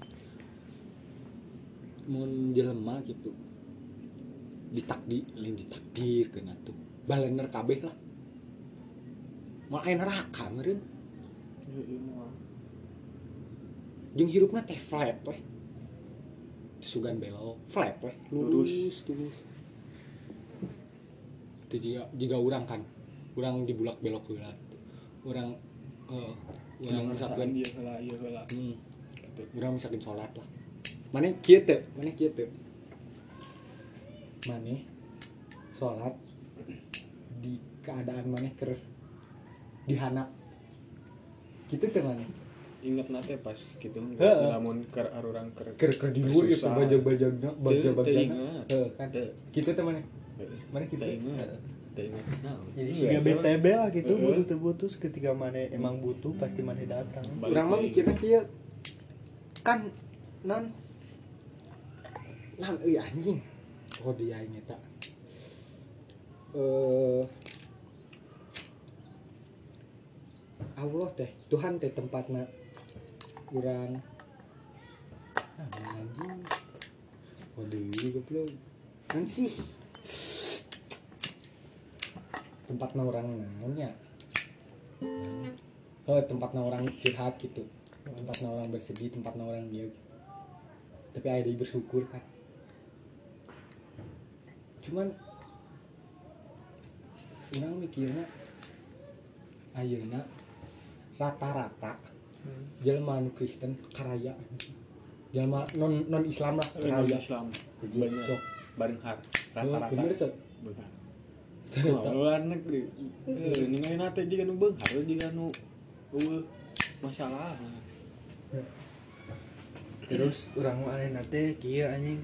mun jelema gitu ditakdir lain ditakdirkeun atuh balener kabeh lah mau aya neraka meureun Heeh moal. jeung hirupna teh flat weh sugan belok flat weh lurus Lurus. lurus itu juga juga urang kan urang dibulak belok heula urang eh urang misalkan ieu heula ieu heula. hmm, Gitu. urang misalkan salat lah maneh kieu teu maneh kieu teu maneh salat di keadaan maneh keur dihanap kitu teu maneh Ingat nate pas gitu Heeh. lamun keur arurang keur keur keur di luar itu Susah. bajag-bajagna Teu- teu bajag-bajagna ingat. heeh kan Teu. kitu teh maneh Heeh. maneh kitu Teu ingat. Heeh. Teu ingat naon. jadi Iya, siga B T B lah gitu Heeh. butuh teu putus ketika mana emang butuh pasti mana datang Balik urang mah deui. mikirna kieu kan non non euy anjing oh dia aing eta eh Allah teh Tuhan teh tempatna urang ah anjing oh deui goblok kan sih tempatna urang naon nya oh tempatna orang curhat gitu tempatna orang bersedih tempatna orang dia gitu. Tapi ada yang bersyukur kan cuman orang mikirnya ayeuna rata-rata jelema anu Kristen karaya jelema non non Islam lah Heeh, non karaya Islam. Bener. Bener. Bareng har. Oh, Rata-rata. bener tuh Bener. Ternyata. Oh, luar negeri. Eh, ningali nate juga nu beunghar juga nu eueuh masalah. terus urang mah aneh nate kieu anjing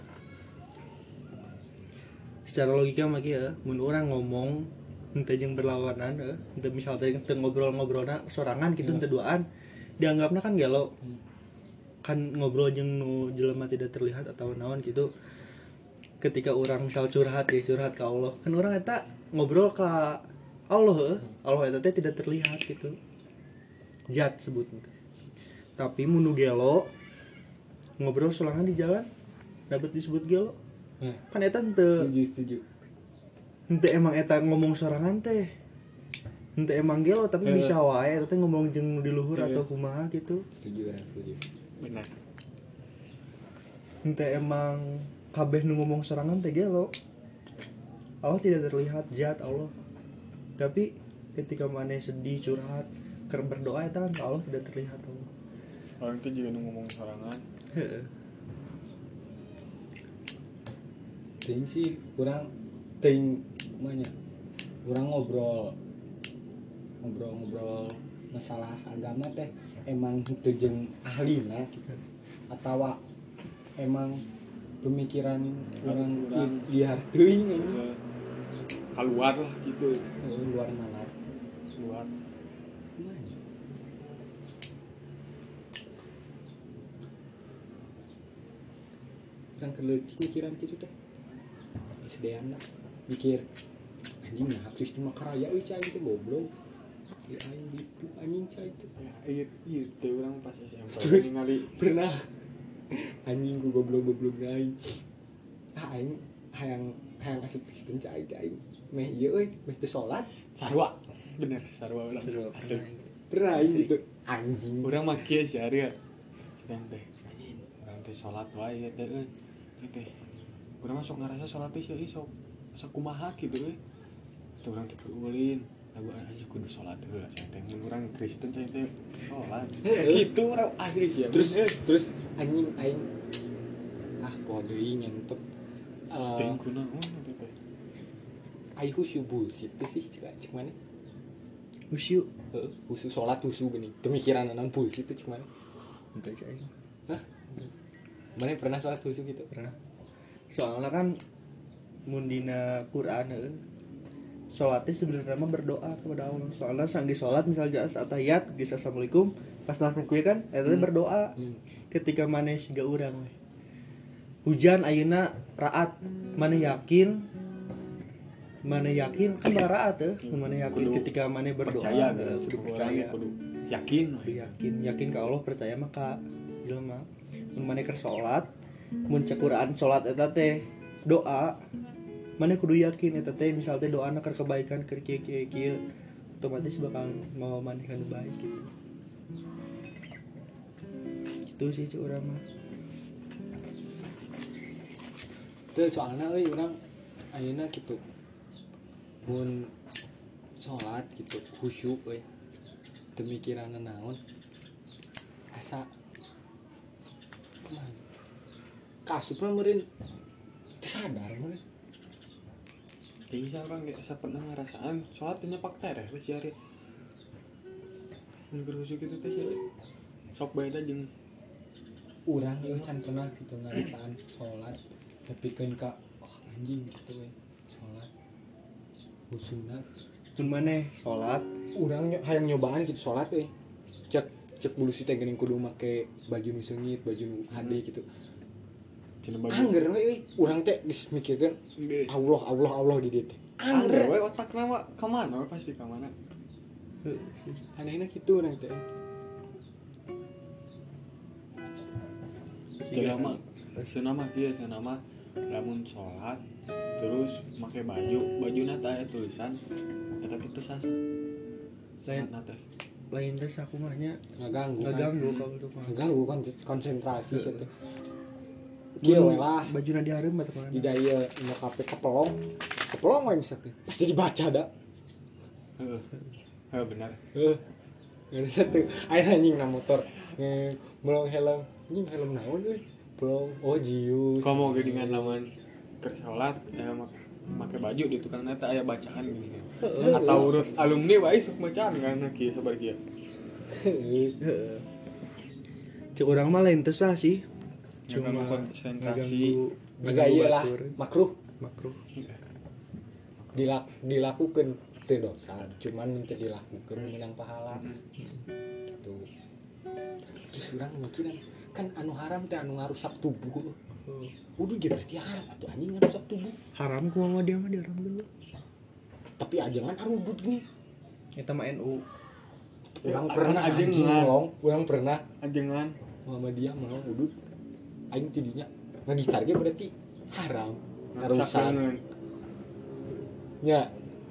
secara logika mah kieu mun urang ngomong henteu jeung berlawanan heuh henteu misal teh teu ngobrol-ngobrolna sorangan kitu henteu duaan dianggapna kan gelo Hmm. kan ngobrol jeung nu jelema tidak terlihat atau naon gitu ketika orang misal curhat ya curhat ke Allah kan orang eta ngobrol ke Allah heuh. Allah eta teh tidak terlihat gitu zat sebutnya tapi mun nu gelo ngobrol sorangan di jalan dapat disebut gelo Nah, kan eta henteu setuju setuju. henteu emang eta ngomong sorangan teh henteu emang gelo tapi Eh. bisa wae eta teh ngomong jeung di luhur Eh. atau kumaha gitu Setuju orang setuju. benar henteu emang kabeh nu ngomong sorangan teh gelo Allah tidak terlihat zat Allah tapi ketika maneh sedih curhat keur berdoa eta kan Allah tidak terlihat Allah orang itu juga nu ngomong sorangan heeh Ting sih kurang ting kumanya kurang ngobrol ngobrol-ngobrol masalah agama teh emang itu jeung ahlina atau emang pemikiran orang Urang. liar teuing ini Eh, keluar lah gitu luar nalar keluar kumanya kan keleutik mikiran gitu teh S D M lah mikir anjing nah terus cuma karaya euy cai teh goblok ya aing dipu anjing cai teh ya iya iya teh orang pas S M P Terus? ningali pernah anjing ku goblok-goblok aing ah aing hayang hayang asup Kristen cai teh aing meh ieu euy meh teu salat sarwa bener sarwa orang Sarua, asli pernah aing gitu anjing orang mah kieu sih ari ya kita teh anjing orang teh salat wae ya teh euy teh urang mah sok ngarasa salat teh sih sok sakumaha gitu euy teh urang teh ulin lagu anjing kudu salat heula saya teh mun urang Kristen saya teh salat gitu urang asli sih ya terus terus anjing aing ah poho deui ngentot eh teh kunaon teh teh aing khusyuk bullshit teh sih cek cek mana usiu heeh khusyuk salat khusyuk geuning teu mikiran naon bullshit teh cek mana henteu cai hah mana pernah salat khusyuk gitu pernah soalnya kan mun dina Quran heuh salatnya sebenarnya mah berdoa kepada Allah soalnya sangge salat misalnya saat tahiyat geus assalamualaikum pas langsung kuy kan eta teh Hmm. berdoa hmm. ketika maneh siga urang we hujan ayeuna raat maneh yakin maneh yakin kan baraat teh maneh yakin Kudu ketika maneh berdoa percaya eh, gitu kudu percaya percaya kudu yakin we. Kudu yakin yakin ke Allah percaya mah ka jelema mun maneh keur salat mun cek Quran salat eta teh doa maneh kudu yakin eta teh misal teh doana keur kebaikan keur kieu kieu kieu otomatis bakal mau maneh kan baik gitu itu sih cek urang mah Teu soalna euy urang ayeuna kitu mun salat gitu khusyuk euy teu mikiran naon asa kumaha kasupna meureun teu sadar meureun Iya orang kayak saya pernah ngerasaan sholat teh nyepak tereh wes ya ari. Mun keur khusyuk kitu teh sih sok beda jeung urang euy can pernah gitu ngarasaan salat nepikeun ka oh anjing gitu we salat khusyukna mun maneh salat urang ny- hayang nyobaan gitu salat euy cek cek bulu si teh geuning kudu make baju nu seungit baju nu hade gitu cenah baju. angger we euy urang teh geus mikirkeun Geus. Allah Allah Allah di dieu teh Angger angger we otakna mah ka mana we pasti ka mana. heuh sih anehna kitu urang teh Secara mah seunah mah kieu seunah mah lamun sholat terus make baju bajuna teh aya tulisan eta teh teu sah. lain Salatna teh. lain teh sakumahnya ngaganggu ngaganggu kalau itu mah ngaganggu kon- konsentrasi sih teh kieu we lah bajuna dihareup mah teh mana tidak ieu nu kape kepelong kepelong we misalkan pasti dibaca da Heeh. Heeh benar. heuh ada satu aya anjing na motor nge belong helm anjing helm naon euy belong oh jius Komo geuningan lamun keur sholat aya mak make baju di tukang nata aya bacaan gini. Atau urut alumni wae sok bacaan karena kieu sabar kieu. Heuh. Heeh. Cek urang mah lain teu sah sih. Ngaganggu Cuma konsentrasi. ngaganggu Jika iya lah batur. makruh makruh. dilak dilakukan teu dosa cuman minta dilakukan menang pahala gitu terus urang mikiran kan anu haram teh anu ngarusak tubuh Udah ge berarti haram atuh anjing ngarusak tubuh. Haram kumaha dia mah diharam dulu. Tapi ajangan arudut gini. Eta mah N U. Urang Ya, pernah kan anjing ajengan. ngomong, urang pernah Ajengan. Muhammadiyah mau udut. Aing tidinya ngagitar ge berarti haram. Ngarusak Ngarusak. leungeun. Nya.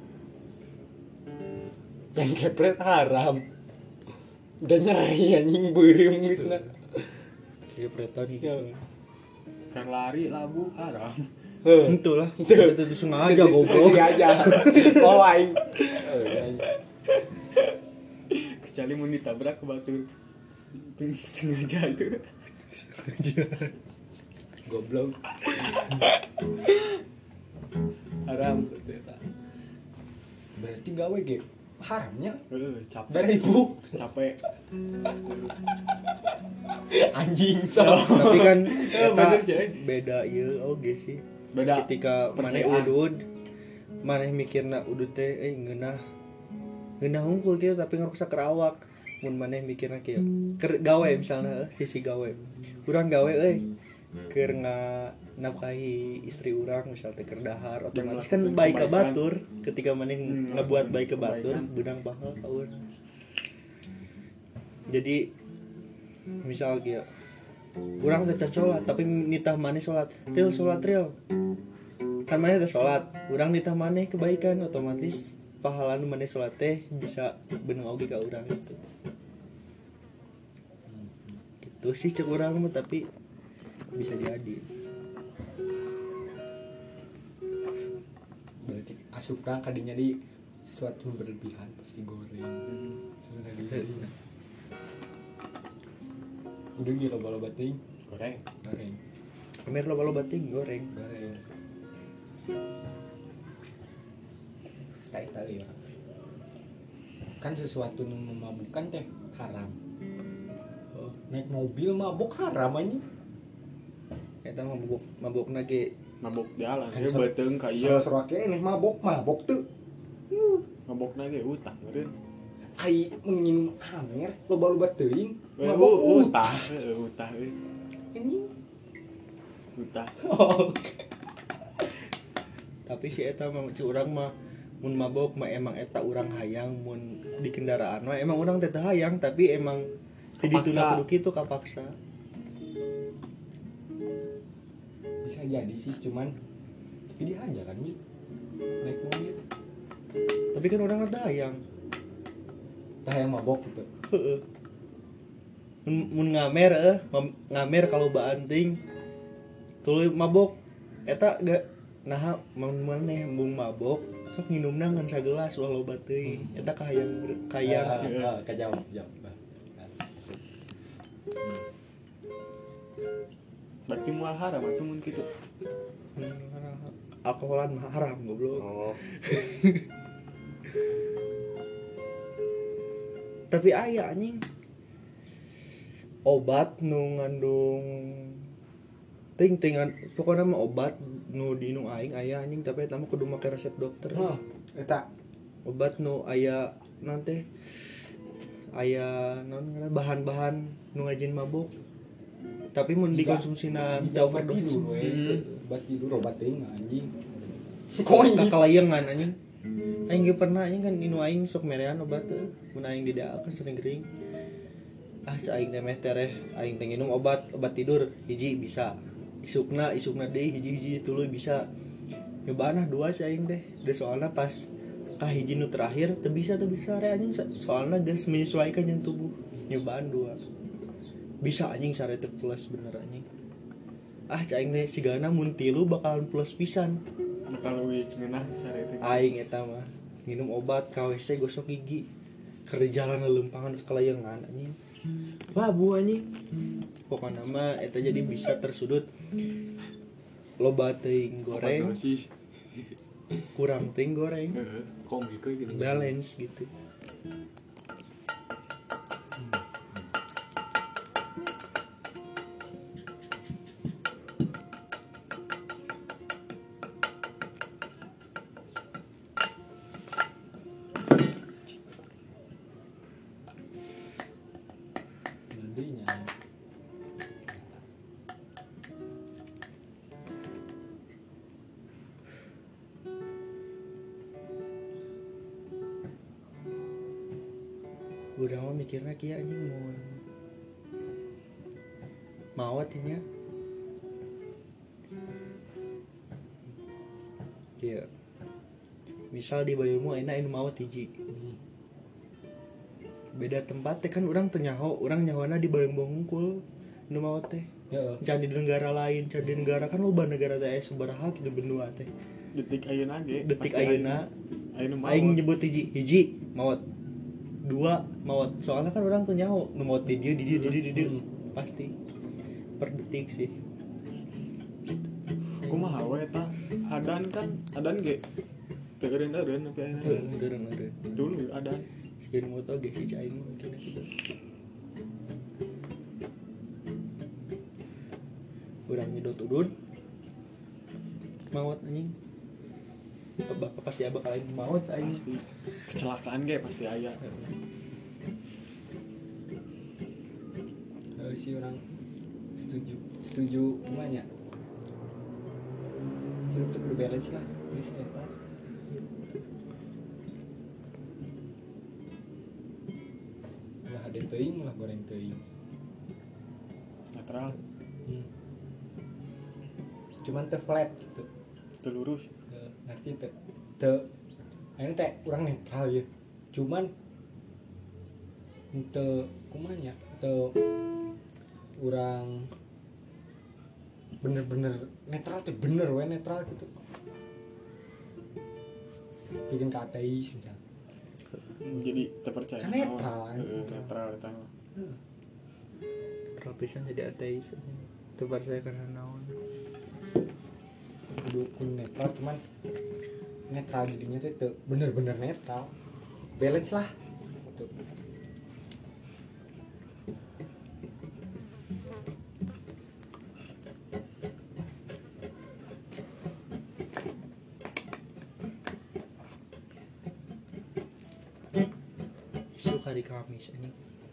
Pengen kepret haram. Udah nyeri anjing beureum geusna. Kepretan gitu. Kan lari labu haram. Heuh. Itu lah. Itu sengaja goblok. aja. Oh aing. Eh, Kecuali mau ditabrak ke batur. Itu sengaja itu. Goblok. Haram. Berarti gawe ge haramnya Heeh, capek. dari ibu Capek. anjing so. Tapi kan Eh, eta bener sih, eh. beda ieu oge sih. Beda. Ketika maneh percayaan. udud, maneh mikirna udud teh eh ngeunah. Ngeunah hungkul kieu tapi ngarusak ka awak. Mun maneh mikirna kieu. Keur gawe misalnya eh, sisi gawe. Urang gawe euy. Keur nafkahi istri urang misal teh keur dahar otomatis kan melakukan baik ka kebaikan. batur ketika maneh Hmm, ngabuat melakukan baik ka batur kebaikan. beunang pahala ka urang. Jadi misal kieu urang teh can salat tapi nitah maneh salat. Real salat real. Kan maneh teh salat, urang nitah maneh kebaikan otomatis pahala nu maneh salat teh bisa beunang oge ka urang gitu. Gitu sih cek urang mah tapi bisa jadi. Berarti asup urang kadinya di sesuatu berlebihan pasti goreng. Sebenarnya udah gila loba-loba ting Goreng. goreng Amer loba-loba ting goreng. goreng tak tahu ya kan sesuatu yang memabukkan teh haram. Oh, Naik mobil mabuk haram anjing. eta mah mabok mabokna ge Mabok jalan. Kan Dia so- beteung ka Iya, ieu. serake eneh mabok mabok tuh. Mabokna ge utah meureun. Ai menginum amer loba-loba teuing Eh, mabok u- utah. utah. Heeh, utah euy. Anjing. Utah. Oh. tapi si eta mah cek urang mah mun mabok mah emang eta urang hayang mun di kendaraan mah emang urang teh teu hayang tapi emang di Kapaksa. dituna kudu kitu kapaksa. Bisa jadi sih cuman tapi dia aja kan Mit naik mobil Tapi kan urang teh hayang. tah yang mabok gitu. Heeh. Mun mun ngamer eh ngam- ngamer kalau baanting tuluy mabok eta ga nah mun maneh embung mabok sok nginumna ngan sagelas ulah loba teuing eta kahayang kahayang Ah, ah, kajawab jawab. Berarti moal haram atuh mun kitu. alkoholan mah haram goblok. Oh. Tapi aya anjing obat nu ngandung ting tingan pokoknya mah obat nu diinung aing aya anjing tapi eta mah kudu make resep dokter. Hah, eta Obat nu aya nanti aya naon ngaranna bahan-bahan nu ngajin mabuk tapi mun Jika- dikonsumsina jika teu obat overdose tidur we. Hmm. Obat tidur obat teuing anjing. kakalayangan anjing aing ge pernah anjing kan inu aing sok merean obat teh mun aing di daerah kan sering gering ah cai aing teh meh tereh aing teh nginum obat obat tidur hiji bisa isukna isukna deui hiji-hiji tuluy bisa nyobana dua cai aing teh da soalna pas kahiji nu terakhir teu bisa teu bisa sare anjing so- soalna geus menyesuaikan jeung tubuh nyobaan dua bisa anjing sare teu plus bener anjing ah cai aing teh sigana mun tilu bakalan plus pisan. Bakal leuwih ngeunah sare teh. Aing eta mah minum obat K W C gosok gigi keur di jalan leumpangan ke kalayangan anjing labu anjing pokokna mah eta jadi bisa tersudut loba teuing goreng Overdosis. kurang teuing goreng Heeh, komik we gitu. balance gitu. Nantinya urang mah mikirna kieu anjing mun maot nya kieu misal di bayumu ayeuna anu maot hiji beda tempat teh kan urang teu nyaho urang nyahoana di Bayung Bungkul nu maot teh Heeh. can di negara lain can di negara kan loba negara teh aya sabaraha di benua teh detik ayeuna ge detik pasti ayeuna ayeuna mau aing nyebut hiji hiji maot dua maot soalnya kan orang tuh nyaho nu maot di dieu di dieu di dieu di dieu Hmm. pasti per detik sih kumaha we eta adan kan adan ge teu eureun-eureun tapi ayeuna teu teu teu dulu adan sieun moto ge si aing mah mungkin gitu urang nyedot udun maot anjing bapak pasti abah kalian maot aing pasti kecelakaan ge pasti aya Heeh, si orang setuju setuju kumanya hidup tuh kudu beres lah geus eta lah ada teuing lah goreng teuing netral hmm. Cuman teu flat gitu teu lurus Teu- ngerti teu teu ini teh urang netral ya cuman teu kumanya teu urang bener-bener netral tuh bener we netral gitu bikin ke ateis misalnya jadi terpercaya Kan netral, kan? Heeh, netral eta mah. kalau pisan jadi ateis anjing teu percaya kana naon dukun netral cuman netral jadinya tuh teu bener-bener netral balance lah gitu. besok hari Kamis anjing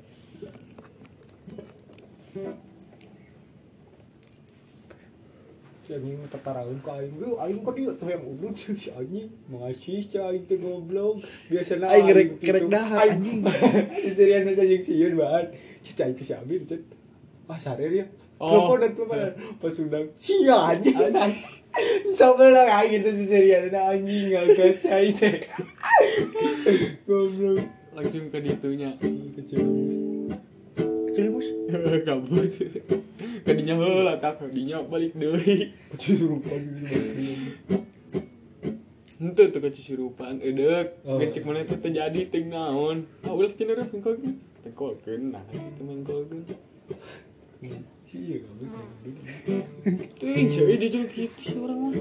Si anjing tetaraeun ka aing, "Lu aing kok dieu teh yang udut si anjing." Mengasih si aing teh goblok. Biasana Aing ngerek- gitu. ngerek dahar, anjing. Serian aja jeung sieun bahan. Cicai teh si Amir cet. Ah sare dia. Oh. Teleponan teleponan. Pas undang sia anjing. Coba lah aing gitu si serian anjing ngagas si aing teh. Goblok. Langsung ke ditunya Kecil. Celimus kabut kadinya heula tak kadinya balik deui Kecil suruh pagi. henteu teu kecisurupan eudeuh Oh. ngecek mana teh terjadi ting naon ah ulah cenah mengkolkeun mengkolkeun nah itu mengkolkeun Iya kamu. ting ceuy dia juga kitu sih urang mah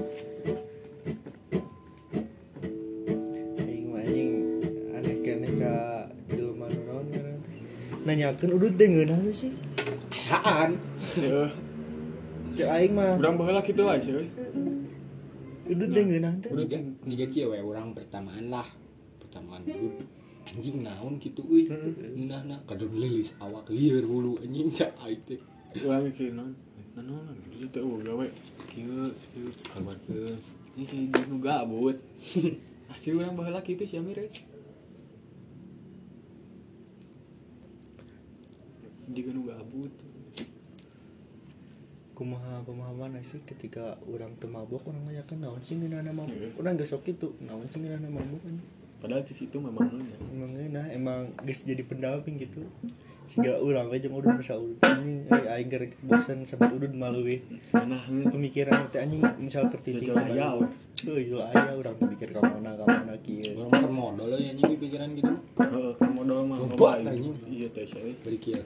aing mah anjing aneh keneh ka jelema nu naon ngaran teh nanyakeun udut teh ngeunah sih Saan? heeh cek aing mah urang baheula kitu wae ceuy udut teh ngeunah teh Jika jika kieu we urang pertamaan lah. Pertamaan dulu anjing naon kitu euy. Ngeunahna kadon lilis awak lieur hulu anjing cak aing teh. urang mikir naon naon ieu teh eueuh gawe kieu kieu kabarkeun ini si nu gabut asli urang baheula kitu si Amir eh. Jika nu gabut kumaha pemahaman sih ketika orang teu mabok urang nanyakeun naon sih ngeunahna mabok urang geus sok kitu naon sih ngeunahna mabok anjing padahal di situ memang ngeunah emang ngeunah emang geus jadi pendamping gitu siga urang we jeung udud masa udud anjing eh aing keur bosan sebut udud mah leuwih nah heuh pemikiran teh anjing misal keur cicing Jajal aya, we. euy yo aya urang teu mikir ka mana ka mana kieu Urang makan modal ya anjing di pikiran gitu. heeh modal mah Loba, loba anjing. iya teh saya Bari kieu.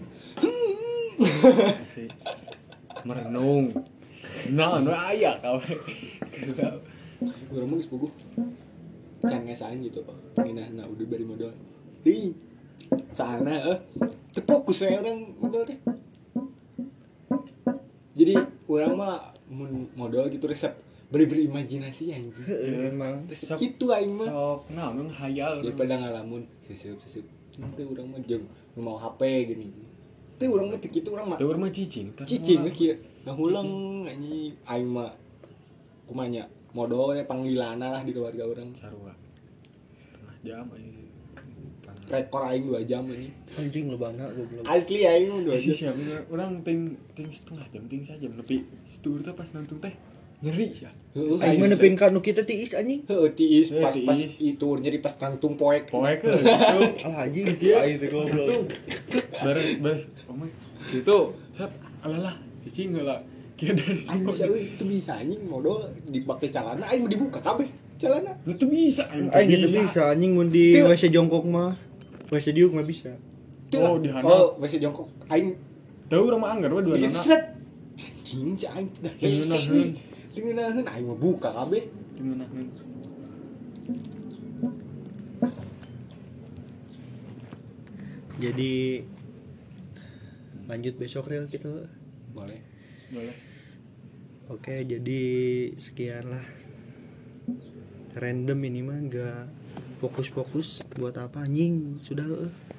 asli merenung nah nu aya kawe Urang mah geus puguh. Can ngesaan gitu. Ngeunahna udah bari modal. Teuing. Soalna eh teu fokus we urang modal teh. Jadi urang mah mun modal gitu resep beri berimajinasi anjing. Heeh, emang Resep kitu aing mah. sok naon hayal Daripada ngalamun seseup-seseup. Teu urang mah jeung nu mau H P gini. Teu urang mah teu kitu urang mah. teu urang mah cicing tar Cicing we kieu. Ngahulang anjing aing mah kumanya modal we panglilana lah di keluarga urang. sarua setengah jam aja rekor aing dua jam ini. Anjing lebana goblok. Asli aing dua Sih jam. siapa orang ting ting setengah jam ting sajam tapi setur tuh pas nonton teh nyeri sih. Heeh, Aing mah nepin ka nu kitu tiis anjing. Heeh, tiis Eh, pas pas tiis. itu nyeri pas kantung poek. Poek ke gitu. Ah anjing aing teh goblok. Beres beres. Oh my. Gitu. Hap, alalah cicing heula. Kira dari Aing bisa euy, itu bisa anjing modal dipake celana aing mau dibuka kabeh celana. Lu tuh bisa Aing gitu bisa anjing mun di Teu. W C jongkok mah. W C diuk mah bisa. Oh, di hana. Oh, masih jongkok aing Tahu rumah anggar mah dua gitu nana. set. Anjing cai aing dah hese. Tengenaheun. Tengenaheun aing mau buka kabeh. Tengenaheun. Jadi lanjut besok real gitu. Boleh. Boleh. Oke, jadi sekian lah. Random ini mah enggak fokus-fokus buat apa anjing. Sudah eueuh.